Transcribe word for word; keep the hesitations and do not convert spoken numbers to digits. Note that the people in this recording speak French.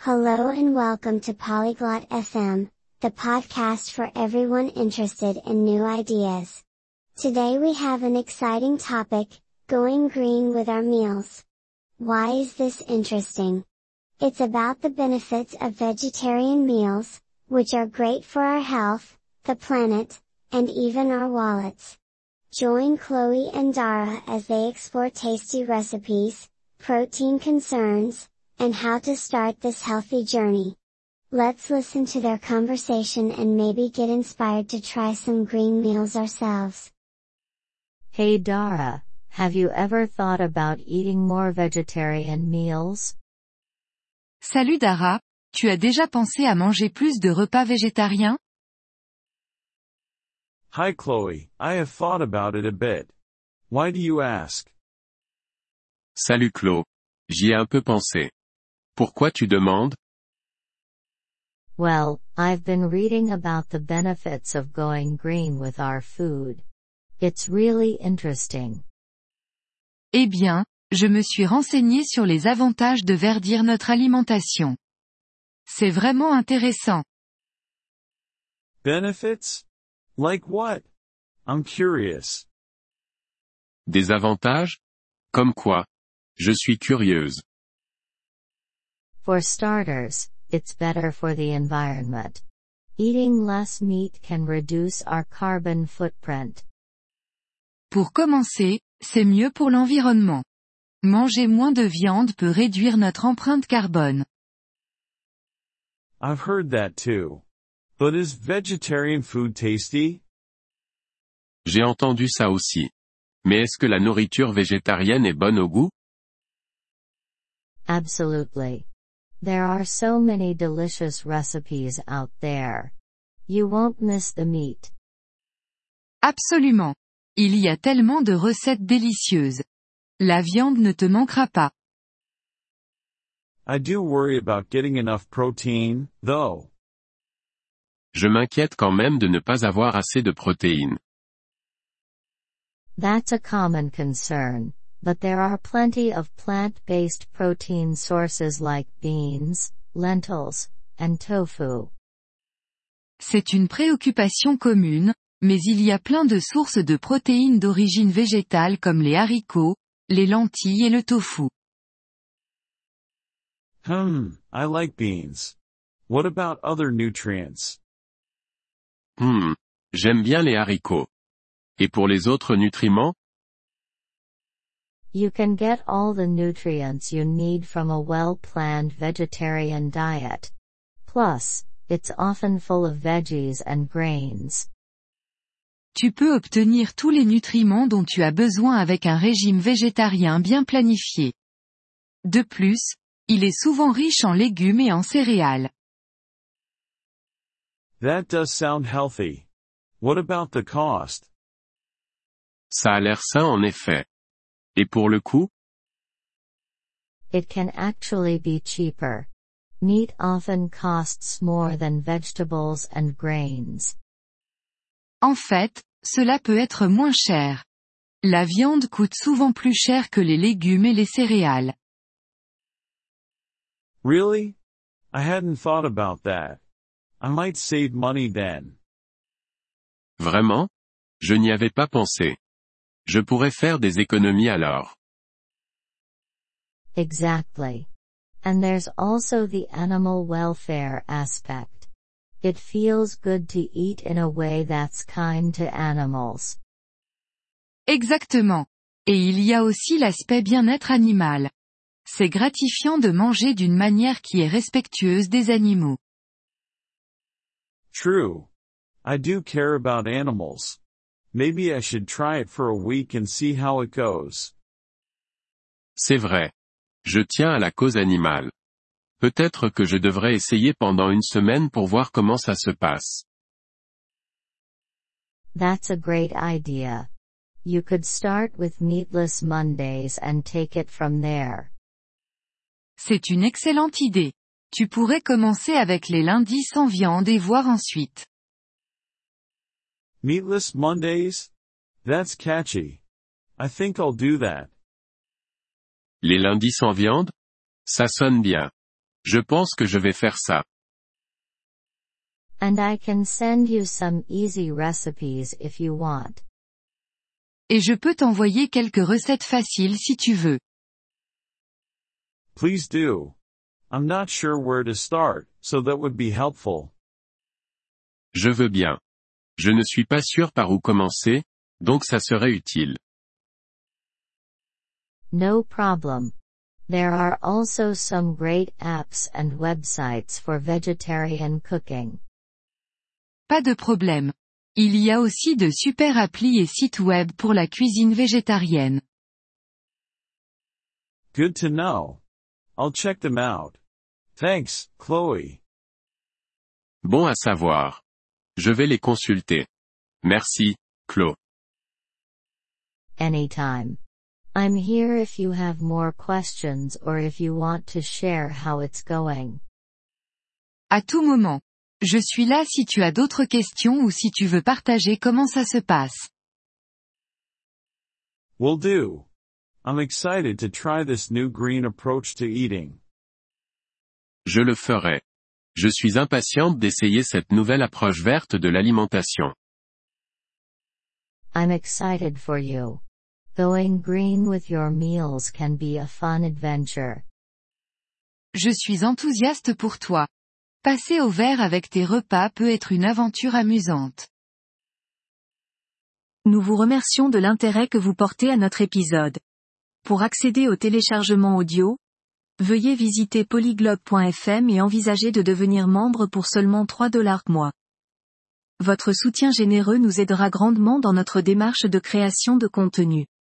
Hello and welcome to Polyglot F M, the podcast for everyone interested in new ideas. Today we have an exciting topic, going green with our meals. Why is this interesting? It's about the benefits of vegetarian meals, which are great for our health, the planet, and even our wallets. Join Chloe and Dara as they explore tasty recipes, protein concerns, and how to start this healthy journey. Let's listen to their conversation and maybe get inspired to try some green meals ourselves. Hey Dara, have you ever thought about eating more vegetarian meals? Salut Dara, tu as déjà pensé à manger plus de repas végétariens? Hi Chloe, I have thought about it a bit. Why do you ask? Salut Chloe. J'y ai un peu pensé. Pourquoi tu demandes? Well, I've been reading about the benefits of going green with our food. It's really interesting. Eh bien, je me suis renseigné sur les avantages de verdir notre alimentation. C'est vraiment intéressant. Benefits? Like what? I'm curious. Des avantages? Comme quoi? Je suis curieuse. For starters, it's better for the environment. Eating less meat can reduce our carbon footprint. Pour commencer, c'est mieux pour l'environnement. Manger moins de viande peut réduire notre empreinte carbone. I've heard that too. But is vegetarian food tasty? J'ai entendu ça aussi. Mais est-ce que la nourriture végétarienne est bonne au goût? Absolutely. There are so many delicious recipes out there. You won't miss the meat. Absolument. Il y a tellement de recettes délicieuses. La viande ne te manquera pas. I do worry about getting enough protein, though. Je m'inquiète quand même de ne pas avoir assez de protéines. That's a common concern, but there are plenty of plant-based protein sources like beans, lentils, and tofu. C'est une préoccupation commune, mais il y a plein de sources de protéines d'origine végétale comme les haricots, les lentilles et le tofu. Hmm, I like beans. What about other nutrients? Hmm, j'aime bien les haricots. Et pour les autres nutriments? You can get all the nutrients you need from a well-planned vegetarian diet. Plus, it's often full of veggies and grains. Tu peux obtenir tous les nutriments dont tu as besoin avec un régime végétarien bien planifié. De plus, il est souvent riche en légumes et en céréales. That does sound healthy. What about the cost? Ça a l'air sain en effet. Et pour le coût? It can actually be cheaper. Meat often costs more than vegetables and grains. En fait, cela peut être moins cher. La viande coûte souvent plus cher que les légumes et les céréales. Really? I hadn't thought about that. I might save money then. Vraiment? Je n'y avais pas pensé. Je pourrais faire des économies alors. Exactly. And there's also the animal welfare aspect. It feels good to eat in a way that's kind to animals. Exactement. Et il y a aussi l'aspect bien-être animal. C'est gratifiant de manger d'une manière qui est respectueuse des animaux. True. I do care about animals. Maybe I should try it for a week and see how it goes. C'est vrai. Je tiens à la cause animale. Peut-être que je devrais essayer pendant une semaine pour voir comment ça se passe. That's a great idea. You could start with meatless Mondays and take it from there. C'est une excellente idée. Tu pourrais commencer avec les lundis sans viande et voir ensuite. Meatless Mondays? That's catchy. I think I'll do that. Les lundis sans viande? Ça sonne bien. Je pense que je vais faire ça. And I can send you some easy recipes if you want. Et je peux t'envoyer quelques recettes faciles si tu veux. Please do. I'm not sure where to start, so that would be helpful. Je veux bien. Je ne suis pas sûr par où commencer, donc ça serait utile. No problem. There are also some great apps and websites for vegetarian cooking. Pas de problème. Il y a aussi de super applis et sites web pour la cuisine végétarienne. Good to know. I'll check them out. Thanks, Chloe. Bon à savoir. Je vais les consulter. Merci, Chloe. Anytime. I'm here if you have more questions or if you want to share how it's going. À tout moment. Je suis là si tu as d'autres questions ou si tu veux partager comment ça se passe. Will do. I'm excited to try this new green approach to eating. Je le ferai. Je suis impatiente d'essayer cette nouvelle approche verte de l'alimentation. I'm excited for you. Going green with your meals can be a fun adventure. Je suis enthousiaste pour toi. Passer au vert avec tes repas peut être une aventure amusante. Nous vous remercions de l'intérêt que vous portez à notre épisode. Pour accéder au téléchargement audio, veuillez visiter polyglobe point f m et envisager de devenir membre pour seulement trois dollars mois. Votre soutien généreux nous aidera grandement dans notre démarche de création de contenu.